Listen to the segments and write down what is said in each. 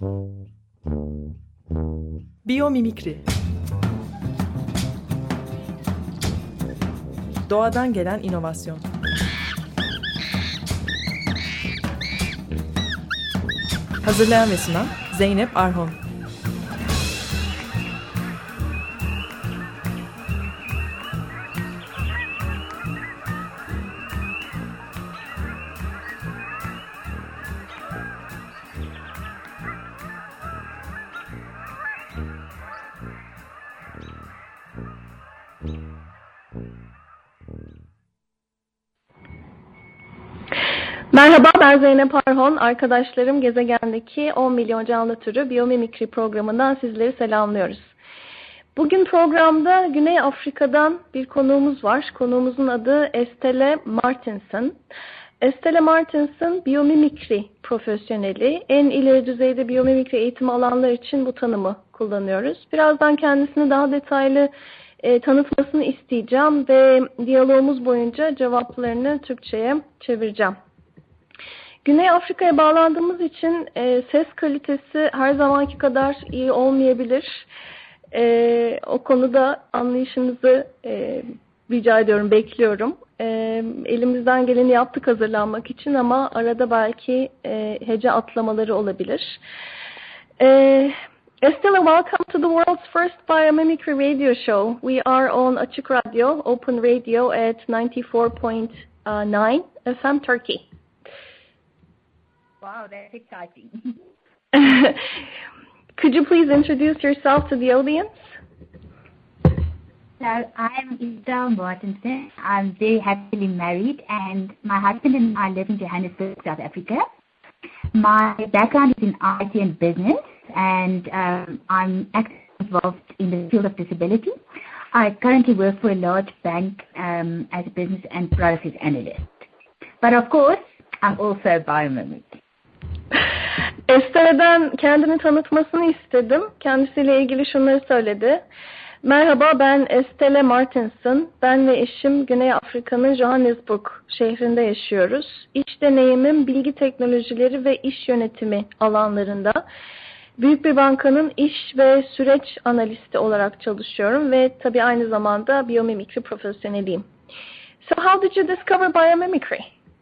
Biyomimikri. Doğadan gelen inovasyon. Hazırlayan ve sunan Zeynep Arhon. Merhaba, ben Zeynep Arhon. Arkadaşlarım gezegendeki 10 milyon canlı türü biyomimikri programından sizleri selamlıyoruz. Bugün programda Güney Afrika'dan bir konuğumuz var. Konuğumuzun adı Estelle Martinson. Estelle Martinson biyomimikri profesyoneli. En ileri düzeyde biyomimikri eğitimi alanlar için bu tanımı kullanıyoruz. Birazdan kendisini daha detaylı tanıtmasını isteyeceğim ve diyalogumuz boyunca cevaplarını Türkçe'ye çevireceğim. Güney Afrika'ya bağlandığımız için ses kalitesi her zamanki kadar iyi olmayabilir. O konuda anlayışınızı rica ediyorum, bekliyorum. Elimizden geleni yaptık hazırlanmak için ama arada belki hece atlamaları olabilir. Estelle, welcome to the world's first biomimicry radio show. We are on Açık Radio, Open Radio at 94.9 FM Turkey. Wow, that's exciting. Could you please introduce yourself to the audience? So I'm Estelle Martinson. I'm very happily married and my husband and I live in Johannesburg, South Africa. My background is in IT and business and I'm actively involved in the field of disability. I currently work for a large bank as a business and process analyst. But of course, I'm also a biomimic. Estelle'den kendini tanıtmasını istedim. Kendisiyle ilgili şunları söyledi. Merhaba, ben Estelle Martinson. Ben ve eşim Güney Afrika'nın Johannesburg şehrinde yaşıyoruz. İş deneyimim bilgi teknolojileri ve iş yönetimi alanlarında. Büyük bir bankanın iş ve süreç analisti olarak çalışıyorum ve tabii aynı zamanda biyomimikri profesyoneliyim. So how did you discover biomimicry?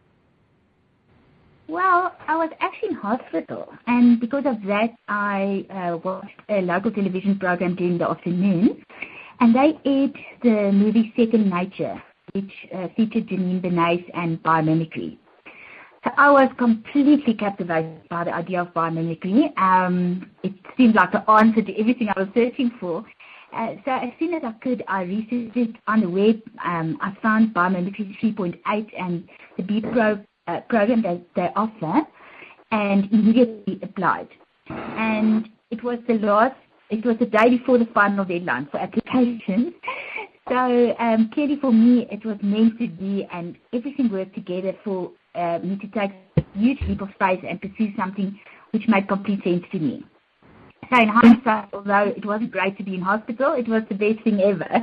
Well, I was actually in hospital, and because of that, I watched a local television program during the afternoon, and they aired the movie Second Nature, which featured Janine Benyus and biomimicry. So I was completely captivated by the idea of biomimicry. It seemed like the answer to everything I was searching for. So as soon as I could, I researched it on the web. I found Biomimicry 3.8 and the B-Pro program that they offer, and immediately applied. And it was the day before the final deadline for applications. So clearly for me, it was meant to be, and everything worked together for me to take a huge leap of faith and pursue something which made complete sense to me. So in hindsight, although it wasn't great to be in hospital, it was the best thing ever.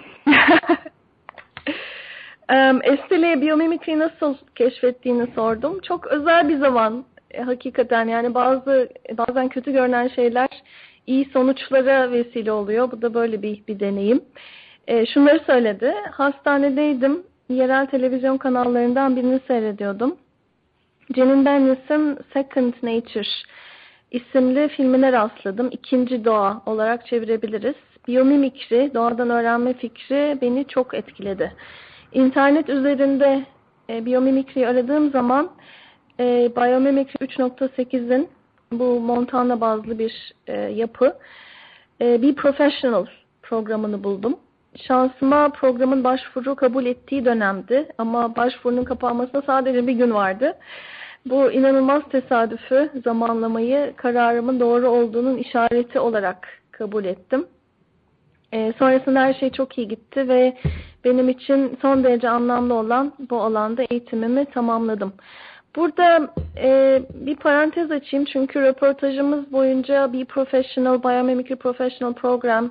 Estelle'ye biyomimikriyi nasıl keşfettiğini sordum. Çok özel bir zaman hakikaten, yani bazen kötü görünen şeyler iyi sonuçlara vesile oluyor. Bu da böyle bir deneyim. Şunları söyledi. Hastanedeydim. Yerel televizyon kanallarından birini seyrediyordum. Janine Benyus'un Second Nature isimli filmine rastladım. İkinci Doğa olarak çevirebiliriz. Biyomimikri, doğadan öğrenme fikri beni çok etkiledi. İnternet üzerinde biyomimikriyi aradığım zaman Biomimicry 3.8'in bu Montana bazlı bir yapı bir professional programını buldum. Şansıma programın başvuru kabul ettiği dönemdi ama başvurunun kapanmasına sadece bir gün vardı. Bu inanılmaz tesadüfü, zamanlamayı kararımın doğru olduğunun işareti olarak kabul ettim. Sonrasında her şey çok iyi gitti ve benim için son derece anlamlı olan bu alanda eğitimimi tamamladım. Burada bir parantez açayım çünkü röportajımız boyunca bir Biomimicry Professional Program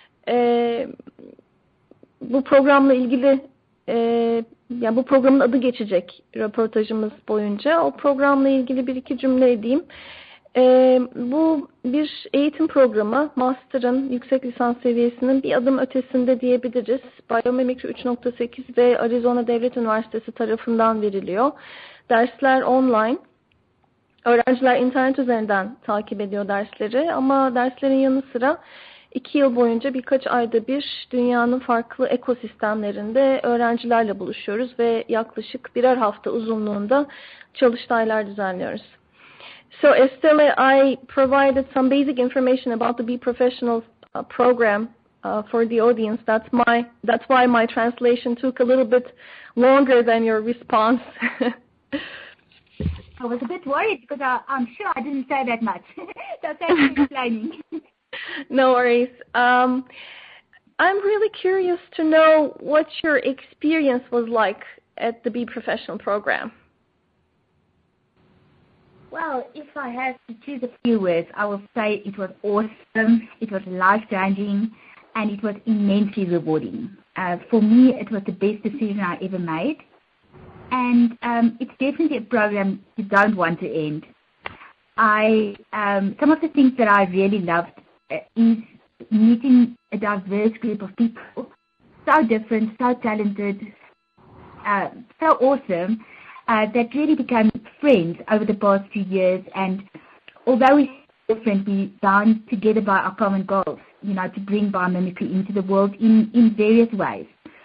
bu programla ilgili yani bu programın adı geçecek röportajımız boyunca. O programla ilgili bir iki cümle edeyim. Bu bir eğitim programı, master'ın, yüksek lisans seviyesinin bir adım ötesinde diyebiliriz. Biyomimikri 3.8 ve Arizona Devlet Üniversitesi tarafından veriliyor. Dersler online. Öğrenciler internet üzerinden takip ediyor dersleri ama derslerin yanı sıra 2 yıl boyunca birkaç ayda bir dünyanın farklı ekosistemlerinde öğrencilerle buluşuyoruz ve yaklaşık birer hafta uzunluğunda çalıştaylar düzenliyoruz. So Estelle, I provided some basic information about the Be Professional program for the audience. That's why my translation took a little bit longer than your response. I was a bit worried because I'm sure I didn't say that much. So thanks for explaining. No worries. I'm really curious to know what your experience was like at the Be Professional program. Well, if I had to choose a few words, I would say it was awesome, it was life-changing, and it was immensely rewarding. For me, it was the best decision I ever made. And it's definitely a program you don't want to end. Some of the things that I really loved is meeting a diverse group of people, so different, so talented, so awesome, that really became friends over the past few years. And although we're different, we bound together by our common goals, to bring biomimicry into the world in various ways.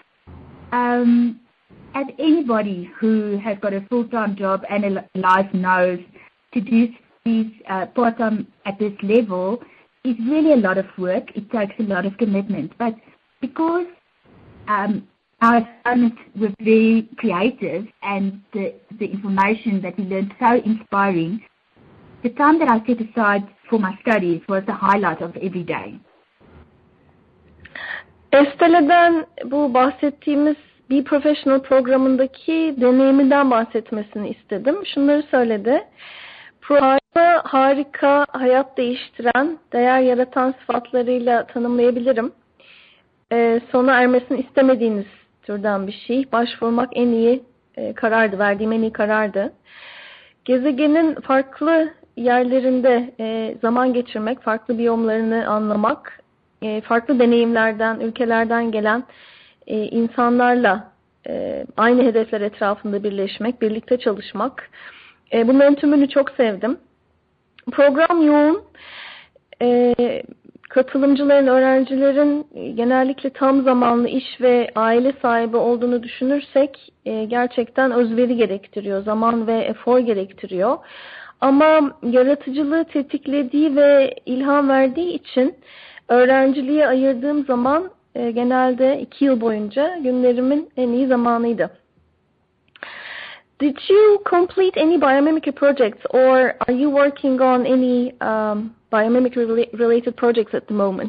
As anybody who has got a full-time job and a life knows, to do these part-time at this level is really a lot of work. It takes a lot of commitment. But because our assignments were very creative and the information that we learned so inspiring, the time that I set aside for my studies was the highlight of every day. Estelle'den bu bahsettiğimiz Be Professional programındaki deneyiminden bahsetmesini istedim. Şunları söyledi. Programı harika, hayat değiştiren, değer yaratan sıfatlarıyla tanımlayabilirim. Sona ermesini istemediğiniz türden bir şey. Başvurmak en iyi karardı, verdiğim en iyi karardı. Gezegenin farklı yerlerinde zaman geçirmek, farklı biyomlarını anlamak, farklı deneyimlerden, ülkelerden gelen insanlarla aynı hedefler etrafında birleşmek, birlikte çalışmak. Bunların tümünü çok sevdim. Program yoğun. Katılımcıların, öğrencilerin genellikle tam zamanlı iş ve aile sahibi olduğunu düşünürsek gerçekten özveri gerektiriyor, zaman ve efor gerektiriyor. Ama yaratıcılığı tetiklediği ve ilham verdiği için öğrenciliğe ayırdığım zaman genelde 2 yıl boyunca günlerimin en iyi zamanıydı. Did you complete any biomimicry projects or are you working on any biomimicry related projects at the moment?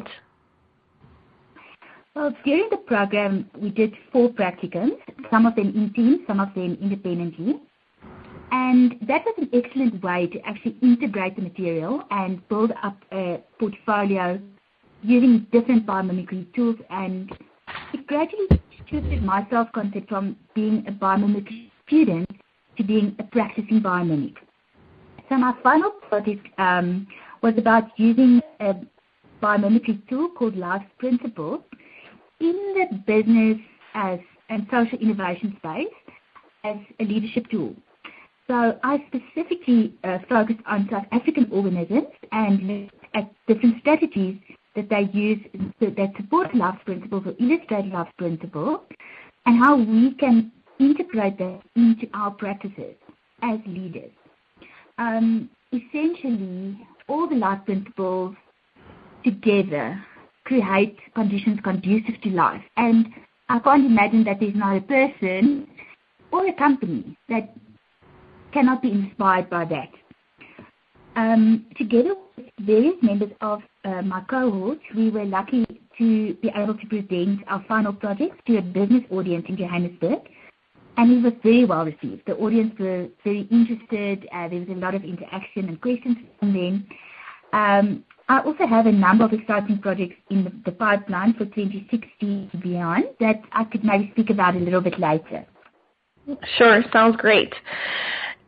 Well, during the program, we did 4 practicums, some of them in teams, some of them independently. And that was an excellent way to actually integrate the material and build up a portfolio using different biomimicry tools, and it gradually shifted my self-concept from being a biomimicry student to being a practicing biomimic. So my final project was about using a biomimicry tool called Life Principles in the business and social innovation space as a leadership tool. So I specifically focused on South African organisms and looked at different strategies that they use that support Life Principles or illustrate Life Principles, and how we can integrate that into our practices as leaders. Essentially, all the Life Principles together create conditions conducive to life. And I can't imagine that there's not a person or a company that cannot be inspired by that. Together with various members of my cohort, we were lucky to be able to present our final project to a business audience in Johannesburg, and it was very well received. The audience were very interested. There was a lot of interaction and questions from them. I also have a number of exciting projects in the pipeline for 2016 and beyond that I could maybe speak about a little bit later. Sure, sounds great.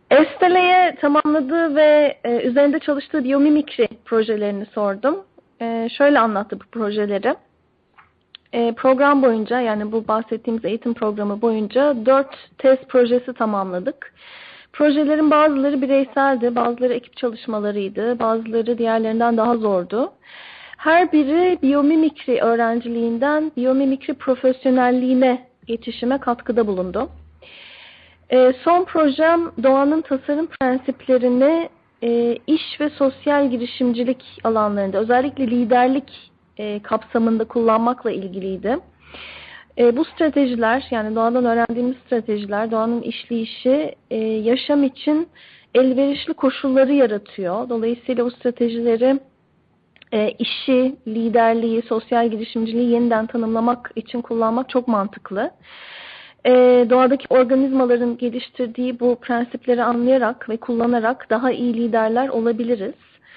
Estele'ye tamamladığı ve üzerinde çalıştığı biyomimikri projelerini sordum. Şöyle anlattı bu projeleri. Program boyunca, yani bu bahsettiğimiz eğitim programı boyunca 4 test projesi tamamladık. Projelerin bazıları bireyseldi, bazıları ekip çalışmalarıydı, bazıları diğerlerinden daha zordu. Her biri biyomimikri öğrenciliğinden biyomimikri profesyonelliğine geçişime katkıda bulundu. Son projem doğanın tasarım prensiplerini iş ve sosyal girişimcilik alanlarında, özellikle liderlik kapsamında kullanmakla ilgiliydi. Bu stratejiler, yani doğadan öğrendiğimiz stratejiler, doğanın işleyişi yaşam için elverişli koşulları yaratıyor. Dolayısıyla bu stratejileri işi, liderliği, sosyal girişimciliği yeniden tanımlamak için kullanmak çok mantıklı. Doğadaki organizmaların geliştirdiği bu prensipleri anlayarak ve kullanarak daha iyi liderler olabiliriz.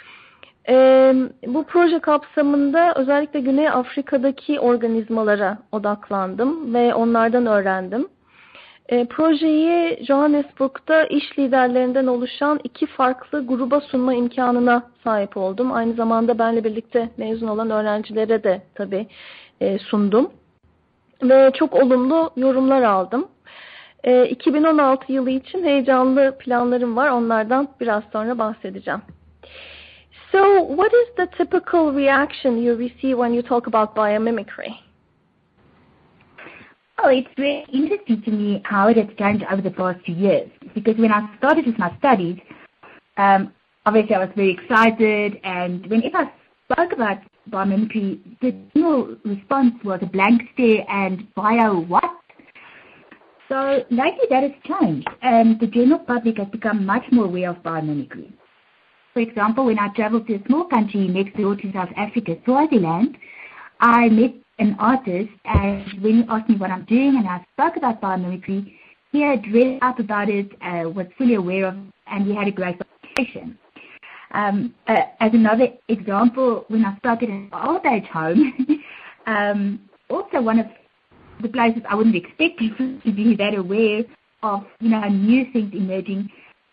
Bu proje kapsamında özellikle Güney Afrika'daki organizmalara odaklandım ve onlardan öğrendim. Projeyi Johannesburg'da iş liderlerinden oluşan 2 farklı gruba sunma imkanına sahip oldum. Aynı zamanda benimle birlikte mezun olan öğrencilere de tabii sundum. Ve çok olumlu yorumlar aldım. 2016 yılı için heyecanlı planlarım var. Onlardan biraz sonra bahsedeceğim. So, what is the typical reaction you receive when you talk about biomimicry? Oh, it's very interesting to me how it has changed over the past few years. Because when I started with my studies, obviously I was very excited, and whenever I spoke about biomimicry, the general response was a blank stare and bio what? So lately that has changed, and the general public has become much more aware of biomimicry. For example, when I traveled to a small country next door to South Africa, Swaziland, I met an artist, and when he asked me what I'm doing and I spoke about biomimicry, he had read up about it, was fully aware of, and we had a great conversation. As another example, when I started an old age home, also one of the places I wouldn't expect people to be that aware of, new things emerging.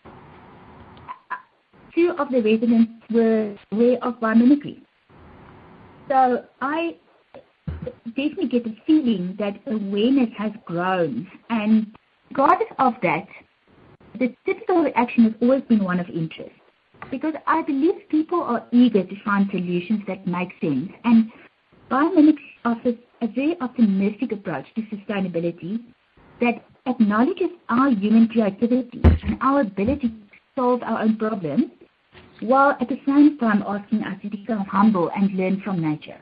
2 of the residents were aware of biomimicry. So I definitely get the feeling that awareness has grown, and regardless of that, the typical reaction has always been one of interest, because I believe people are eager to find solutions that make sense, and biomimicry offers a very optimistic approach to sustainability that acknowledges our human creativity and our ability to solve our own problems, while at the same time asking us to become humble and learn from nature.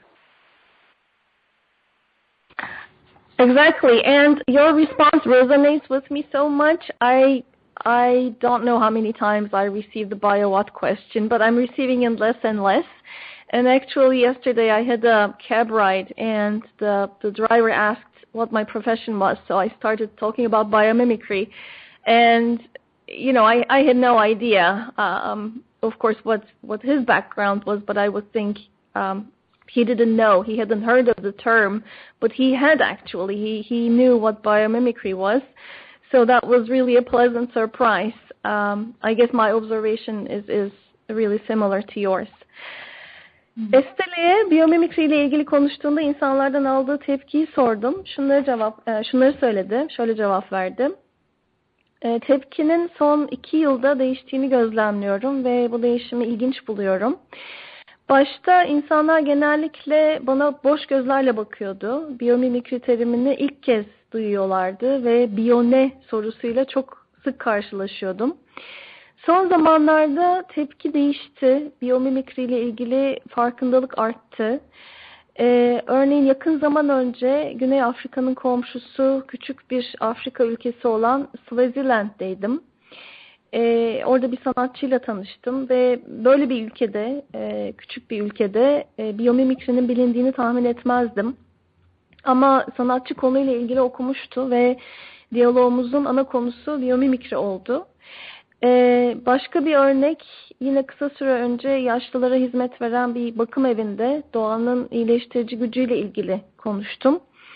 Exactly, and your response resonates with me so much. I don't know how many times I received the bio what question, but I'm receiving it less and less. And actually yesterday I had a cab ride, and the driver asked what my profession was, so I started talking about biomimicry. And, I had no idea, of course, what his background was, but I would think he didn't know. He hadn't heard of the term, but he had actually. He knew what biomimicry was. So that was really a pleasant surprise. I guess my observation is really similar to yours. Estele'ye biyomimikri ile ilgili konuştuğunda insanlardan aldığı tepkiyi sordum. Şunları söyledi. Şöyle cevap verdi. Tepkinin son 2 yılda değiştiğini gözlemliyorum ve bu değişimi ilginç buluyorum. Başta insanlar genellikle bana boş gözlerle bakıyordu. Biyomimikri terimini ilk kez duyuyorlardı ve biyone sorusuyla çok sık karşılaşıyordum. Son zamanlarda tepki değişti. Biyomimikri ile ilgili farkındalık arttı. Örneğin yakın zaman önce Güney Afrika'nın komşusu küçük bir Afrika ülkesi olan Swaziland'deydim. Orada bir sanatçıyla tanıştım ve böyle bir ülkede, küçük bir ülkede biyomimikrinin bilindiğini tahmin etmezdim. Ama sanatçı konuyla ilgili okumuştu ve diyalogumuzun ana konusu biyomimikri oldu. Başka bir örnek, yine kısa süre önce yaşlılara hizmet veren bir bakım evinde doğanın iyileştirici gücüyle ilgili konuştum.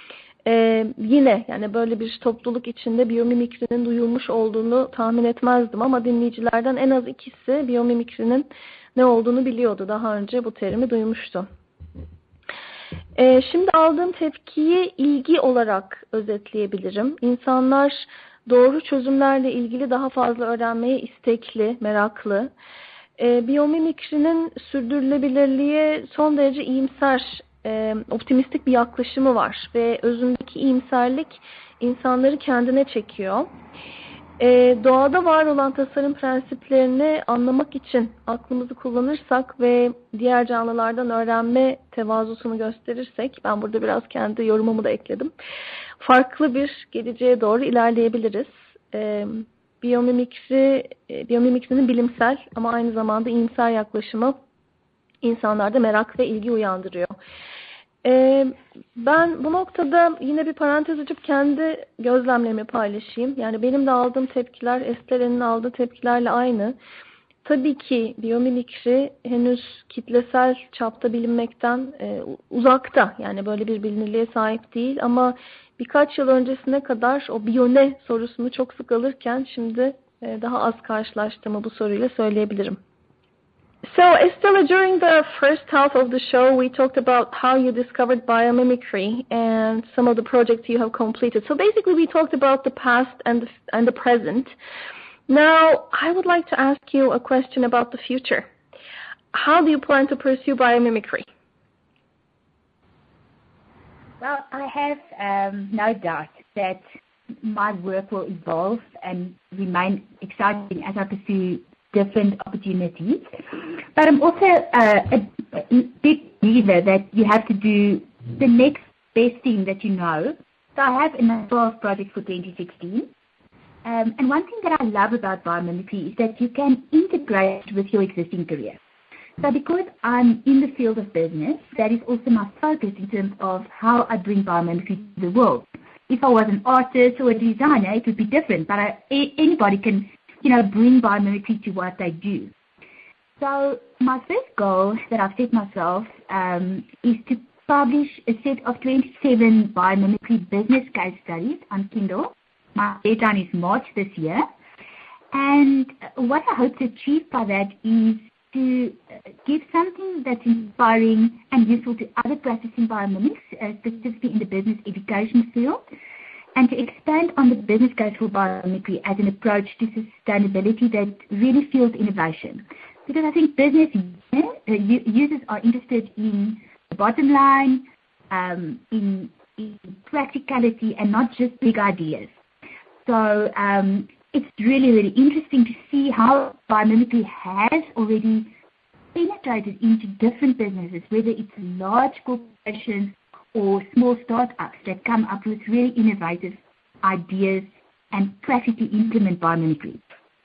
Yine yani böyle bir topluluk içinde biyomimikrinin duyulmuş olduğunu tahmin etmezdim ama dinleyicilerden en az ikisi biyomimikrinin ne olduğunu biliyordu. Daha önce bu terimi duymuştu. Şimdi aldığım tepkiyi ilgi olarak özetleyebilirim. İnsanlar doğru çözümlerle ilgili daha fazla öğrenmeye istekli, meraklı. Biyomimikrinin sürdürülebilirliğe son derece iyimser, optimistik bir yaklaşımı var ve özündeki iyimserlik insanları kendine çekiyor. Doğada var olan tasarım prensiplerini anlamak için aklımızı kullanırsak ve diğer canlılardan öğrenme tevazusunu gösterirsek, ben burada biraz kendi yorumumu da ekledim, farklı bir geleceğe doğru ilerleyebiliriz. Biyomimikrinin bilimsel ama aynı zamanda iyimser yaklaşımı insanlarda merak ve ilgi uyandırıyor. Ben bu noktada yine bir parantez açıp kendi gözlemlerimi paylaşayım. Yani benim de aldığım tepkiler Estelen'in aldığı tepkilerle aynı. Tabii ki biyomimikri henüz kitlesel çapta bilinmekten uzakta. Yani böyle bir bilinirliğe sahip değil ama birkaç yıl öncesine kadar o biyone sorusunu çok sık alırken şimdi daha az karşılaştığımı bu soruyla söyleyebilirim. So, Estela, during the first half of the show, we talked about how you discovered biomimicry and some of the projects you have completed. So basically, we talked about the past and the present. Now, I would like to ask you a question about the future. How do you plan to pursue biomimicry? Well, I have no doubt that my work will evolve and remain exciting as I pursue different opportunities. But I'm also a big believer that you have to do the next best thing that you know. So I have a number of projects for 2016. And one thing that I love about biomimicry is that you can integrate with your existing career. So because I'm in the field of business, that is also my focus in terms of how I bring biomimicry to the world. If I was an artist or a designer, it would be different, but anybody can bring biomimicry to what they do. So my first goal that I've set myself is to publish a set of 27 biomimicry business case studies on Kindle. My deadline is March this year. And what I hope to achieve by that is to give something that's inspiring and useful to other practicing biomimics, specifically in the business education field, and to expand on the business case for biomimicry as an approach to sustainability that really fuels innovation. Because I think business users are interested in the bottom line, in practicality, and not just big ideas. So it's really, really interesting to see how biomimicry has already penetrated into different businesses, whether it's large corporations or small startups that come up with really innovative ideas and practically implement biomimicry.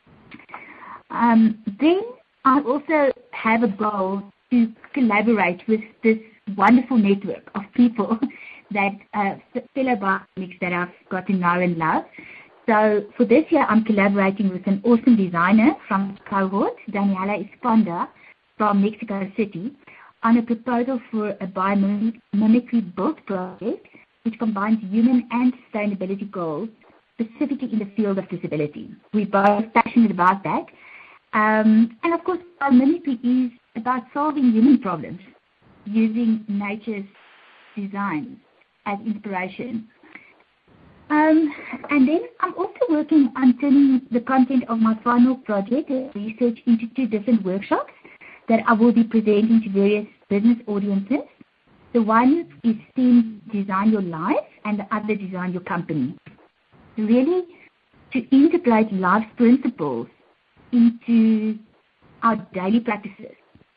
Then I also have a goal to collaborate with this wonderful network of people that fellow biomimics that I've got to know and love. So for this year, I'm collaborating with an awesome designer from cohort, Daniela Esponda from Mexico City, on a proposal for a biomimicry build project which combines human and sustainability goals, specifically in the field of disability. We're both passionate about that. And of course, biomimicry is about solving human problems using nature's design as inspiration. And then I'm also working on turning the content of my final project research into 2 different workshops that I will be presenting to various business audiences. The one is themed Design Your Life and the other Design Your Company. Really to integrate life principles into our daily practices.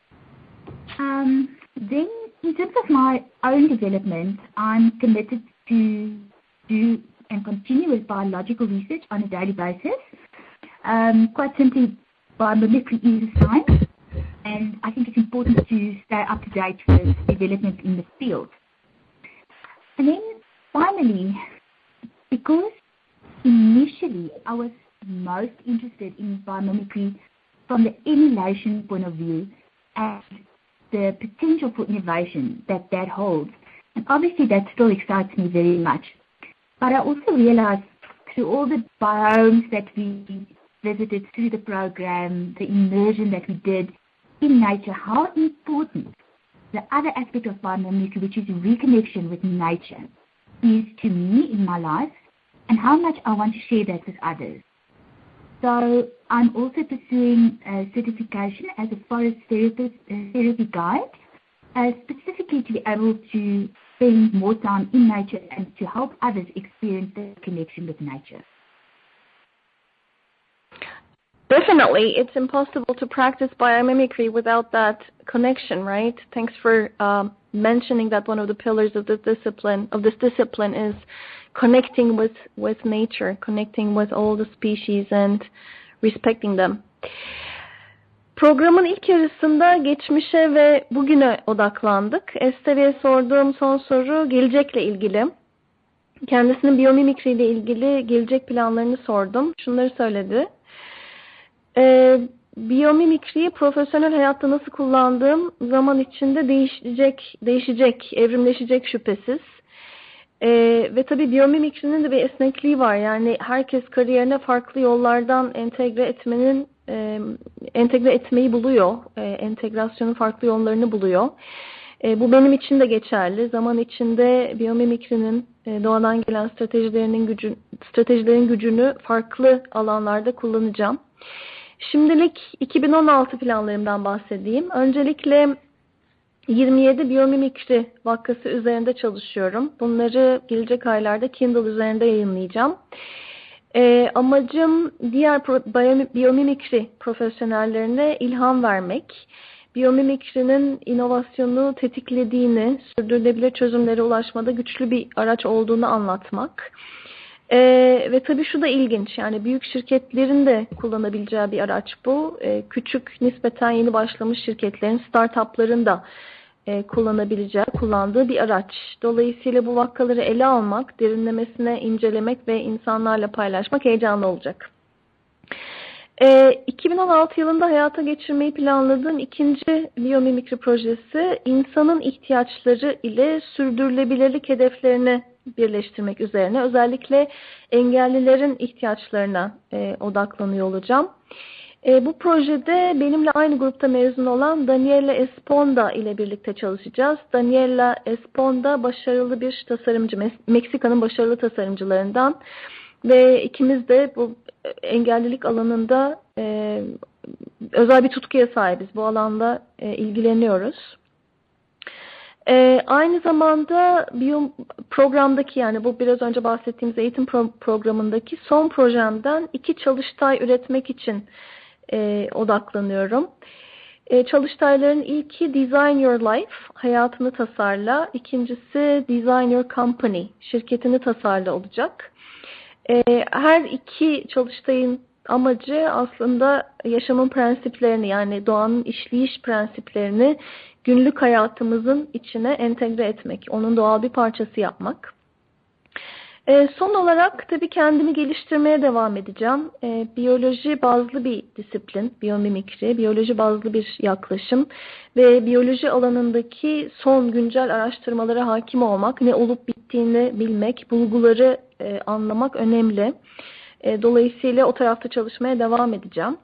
Then in terms of my own development, I'm committed to do and continue with biological research on a daily basis. Quite simply, biomimicry is a science, and I think it's important to stay up to date with development in the field. And then finally, because initially I was most interested in biomimicry from the emulation point of view and the potential for innovation that holds, And obviously that still excites me very much. But I also realized through all the biomes that we visited through the program, the immersion that we did in nature, how important the other aspect of biomimicry, which is reconnection with nature, is to me in my life, and how much I want to share that with others. So I'm also pursuing a certification as a forest therapy guide, specifically to be able to spend more time in nature and to help others experience the connection with nature. Definitely, it's impossible to practice biomimicry without that connection, right? Thanks for mentioning that one of the pillars of this discipline is connecting with nature, connecting with all the species and respecting them. Programın ilk yarısında geçmişe ve bugüne odaklandık. Esther'e sorduğum son soru gelecekle ilgili. Kendisinin biyomimikri ile ilgili gelecek planlarını sordum. Şunları söyledi. Biyomimikriyi profesyonel hayatta nasıl kullandığım zaman içinde değişecek, evrimleşecek şüphesiz. Ve tabii biyomimikrinin de bir esnekliği var. Yani herkes kariyerine farklı yollardan entegre etmeyi buluyor. Entegrasyonun farklı yollarını buluyor. Bu benim için de geçerli. Zaman içinde biyomimikrinin doğadan gelen stratejilerin gücünü farklı alanlarda kullanacağım. Şimdilik 2016 planlarımdan bahsedeyim. Öncelikle 27 biyomimikri vakası üzerinde çalışıyorum. Bunları gelecek aylarda Kindle üzerinde yayınlayacağım. Amacım diğer biyomimikri profesyonellerine ilham vermek, biyomimikrinin inovasyonu tetiklediğini, sürdürülebilir çözümlere ulaşmada güçlü bir araç olduğunu anlatmak. Ve tabii şu da ilginç, yani büyük şirketlerin de kullanabileceği bir araç bu. Küçük, nispeten yeni başlamış şirketlerin, startupların da kullandığı bir araç. Dolayısıyla bu vakaları ele almak, derinlemesine incelemek ve insanlarla paylaşmak heyecanlı olacak. 2016 yılında hayata geçirmeyi planladığım ikinci biyomimikri projesi, insanın ihtiyaçları ile sürdürülebilirlik hedeflerini birleştirmek üzerine. Özellikle engellilerin ihtiyaçlarına odaklanıyor olacağım. Bu projede benimle aynı grupta mezun olan Daniela Esponda ile birlikte çalışacağız. Daniela Esponda başarılı bir tasarımcı, Meksika'nın başarılı tasarımcılarından ve ikimiz de bu engellilik alanında özel bir tutkuya sahibiz. Bu alanda ilgileniyoruz. Aynı zamanda programdaki, yani bu biraz önce bahsettiğimiz eğitim programındaki son projemden 2 çalıştay üretmek için odaklanıyorum. Çalıştayların ilki Design Your Life, hayatını tasarla. İkincisi Design Your Company, şirketini tasarla olacak. Her iki çalıştayın amacı aslında yaşamın prensiplerini, yani doğanın işleyiş prensiplerini günlük hayatımızın içine entegre etmek, onun doğal bir parçası yapmak. Son olarak tabii kendimi geliştirmeye devam edeceğim. Biyoloji bazlı bir disiplin, biyomimikri, biyoloji bazlı bir yaklaşım ve biyoloji alanındaki son güncel araştırmalara hakim olmak, ne olup bittiğini bilmek, bulguları anlamak önemli. Dolayısıyla o tarafta çalışmaya devam edeceğim.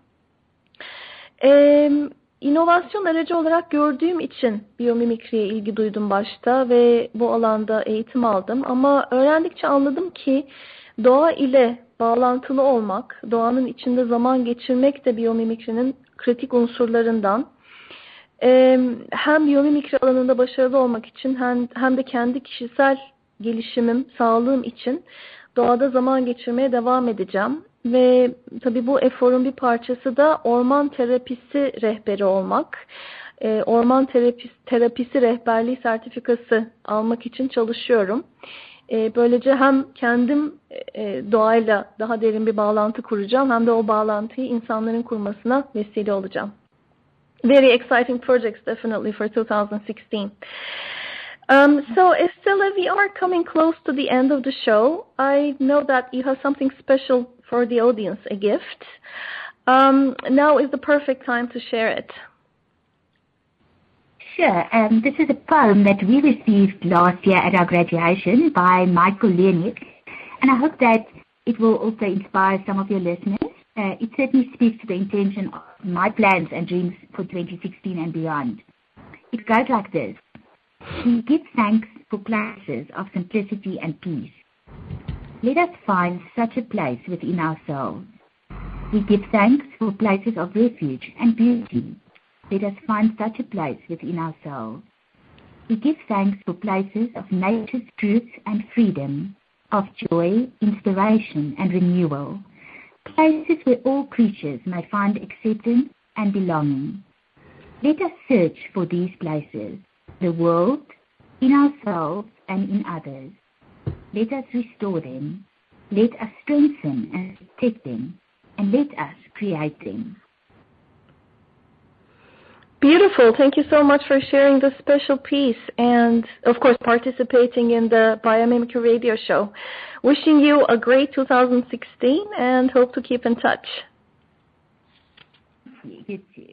İnovasyon aracı olarak gördüğüm için biyomimikriye ilgi duydum başta ve bu alanda eğitim aldım. Ama öğrendikçe anladım ki doğa ile bağlantılı olmak, doğanın içinde zaman geçirmek de biyomimikrinin kritik unsurlarından. Hem biyomimikri alanında başarılı olmak için hem de kendi kişisel gelişimim, sağlığım için doğada zaman geçirmeye devam edeceğim. Ve tabii bu eforun bir parçası da orman terapisi rehberi olmak. Orman terapisi rehberliği sertifikası almak için çalışıyorum. Böylece hem kendim doğayla daha derin bir bağlantı kuracağım, hem de o bağlantıyı insanların kurmasına vesile olacağım. Very exciting projects definitely for 2016. So Estella, we are coming close to the end of the show. I know that you have something special for the audience, a gift. Now is the perfect time to share it. Sure. This is a poem that we received last year at our graduation by Michael Leonick, and I hope that it will also inspire some of your listeners. It certainly speaks to the intention of my plans and dreams for 2016 and beyond. It goes like this. We give thanks for places of simplicity and peace. Let us find such a place within ourselves. We give thanks for places of refuge and beauty. Let us find such a place within ourselves. We give thanks for places of nature's truth and freedom, of joy, inspiration, and renewal, places where all creatures may find acceptance and belonging. Let us search for these places, the world, in ourselves, and in others. Let us restore them. Let us strengthen and protect them, and let us create them. Beautiful. Thank you so much for sharing this special piece and, of course, participating in the Biomimicry Radio Show. Wishing you a great 2016 and hope to keep in touch. You too.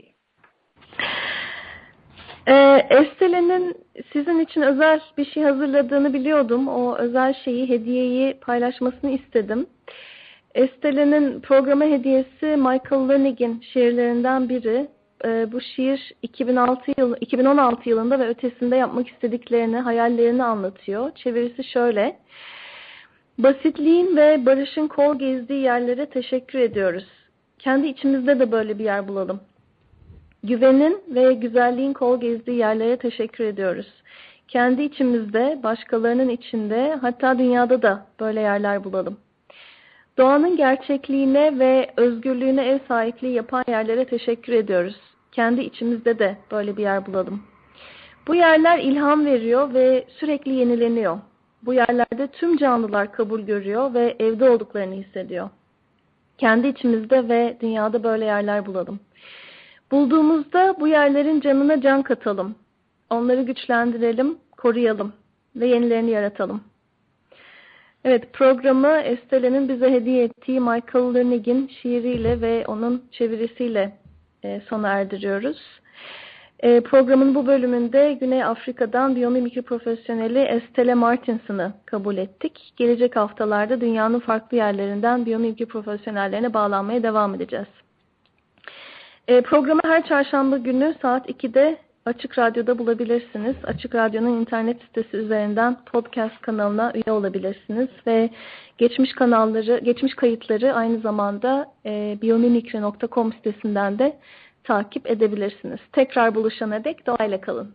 Estele'nin sizin için özel bir şey hazırladığını biliyordum. O özel şeyi, hediyeyi paylaşmasını istedim. Estele'nin programa hediyesi Michael Leonick'in şiirlerinden biri. Bu şiir 2016 yılında ve ötesinde yapmak istediklerini, hayallerini anlatıyor. Çevirisi şöyle. Basitliğin ve barışın kol gezdiği yerlere teşekkür ediyoruz. Kendi içimizde de böyle bir yer bulalım. Güvenin ve güzelliğin kol gezdiği yerlere teşekkür ediyoruz. Kendi içimizde, başkalarının içinde, hatta dünyada da böyle yerler bulalım. Doğanın gerçekliğine ve özgürlüğüne ev sahipliği yapan yerlere teşekkür ediyoruz. Kendi içimizde de böyle bir yer bulalım. Bu yerler ilham veriyor ve sürekli yenileniyor. Bu yerlerde tüm canlılar kabul görüyor ve evde olduklarını hissediyor. Kendi içimizde ve dünyada böyle yerler bulalım. Bulduğumuzda bu yerlerin canına can katalım. Onları güçlendirelim, koruyalım ve yenilerini yaratalım. Evet, programı Estele'nin bize hediye ettiği Michael Leonick'in şiiriyle ve onun çevirisiyle sona erdiriyoruz. Programın bu bölümünde Güney Afrika'dan biyomimikri profesyoneli Estelle Martinson'ı kabul ettik. Gelecek haftalarda dünyanın farklı yerlerinden biyomimikri profesyonellerine bağlanmaya devam edeceğiz. Programı her çarşamba günü saat 2'de Açık Radyo'da bulabilirsiniz. Açık Radyo'nun internet sitesi üzerinden podcast kanalına üye olabilirsiniz ve geçmiş kayıtları aynı zamanda biomimikri.com sitesinden de takip edebilirsiniz. Tekrar buluşana dek doğayla kalın.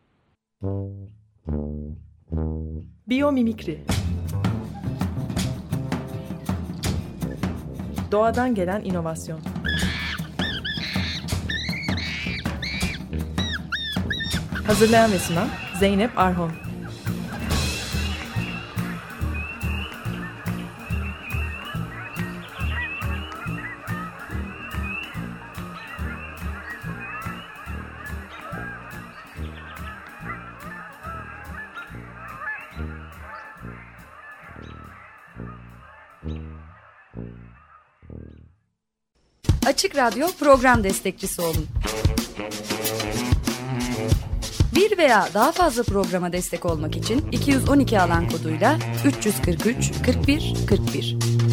Biyomimikri. Doğadan gelen inovasyon. Hazırlayan ve sunan Zeynep Arhon. Açık Radyo program destekçisi olun. Bir veya daha fazla programa destek olmak için 212 alan koduyla 343 41 41